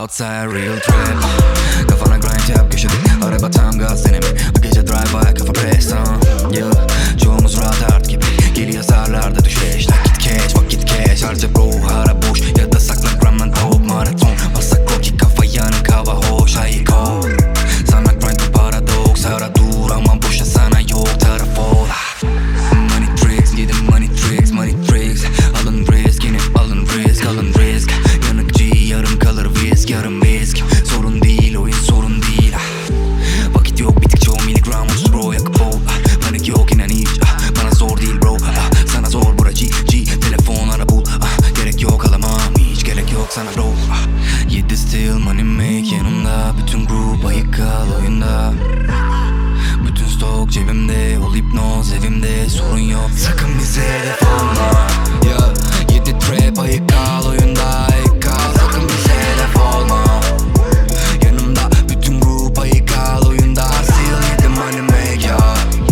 outside real trap. Kafana grind yap köşede, araba tam gaz deneme. Bu gece drive by kafa press yeah. Çoğumuz rahat art gibi, geri yazarlarda düşeş. Nakit cash, vakit cash, harca bro hara boş. Ya da saklan gramdan tavuk maraton. Basak roki kafa yanık hava hoş, hayır kol. Sana grind bu paradoks, ara dur ama boşa sana yok taraf ol. Money tricks, yedim money tricks, money tricks. Alın risk, yine alın risk, alın risk. Yanık G, yarım kalır visk, yarım visk. Sorun değil, oyun sorun değil. Vakit yok, bitik çoğu miligram uç bro, yakıp ol. Panik yok inan hiç, bana zor değil bro. Sana zor bura G, telefon ara bul. Gerek yok alamam, hiç gerek yok sana bro. 7 still money make yanımda. Bütün group ayık kal oyunda. Bütün stok cebimde, ol hipnoz evimde, sorun yok. Sakın bize hedef olma yeah. 7 trap ayık kal oyunda, ayık kal. Sakın bize hedef olma. Yanımda bütün grup ayık kal oyunda. Still 7 money make ya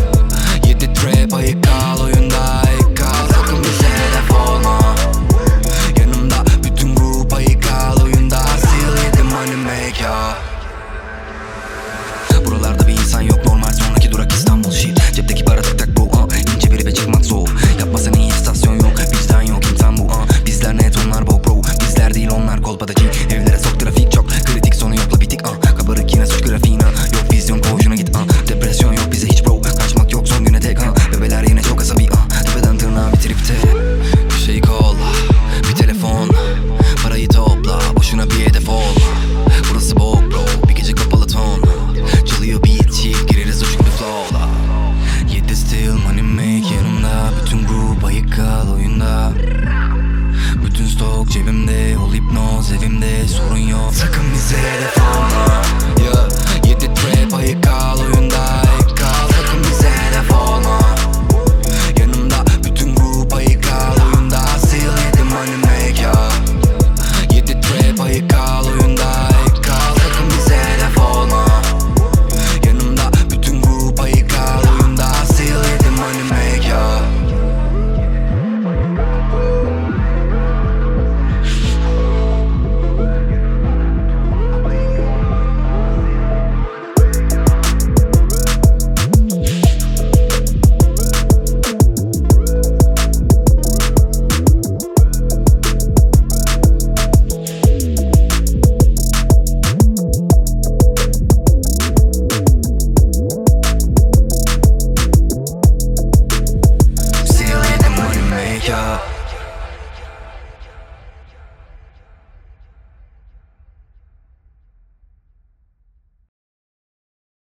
7 trap ayık kal oyunda, ayık kal. Sakın bize hedef olma. Yanımda bütün grup ayık kal oyunda. Still 7 money make ya. Buralarda bir insan yok, normal sonraki durak İstanbul shit. Cepteki para tık tak bro İnce biri ve çıkmak zor. Yapma sen iyi istasyon yok, vicdan yok imkan bu Bizler net onlar bok bro. Bizler değil onlar kolpadaki. Evlere sok trafik çok kritik, sonu yokla bitik Kabarık yine suç grafiğine. Yok vizyon koşuna git Depresyon yok bize hiç bro. Kaçmak yok son güne tek Bebeler yine çok asabi Tepeden tırnağa bir tripte. Bir şey kolla, bir telefon. Parayı topla, boşuna bir hedef ol. Burası bok bro, bir gece kapalı ton. Çalıyor beat chick, gireriz uçuk bir flow'la. 7 still money make yanımda. Bütün grup ayık kal oyunda. Bütün stok cebimde, ol hipnoz evimde, sorun yok. Sakın bize hedef olma yeah. 7 trap ayık kal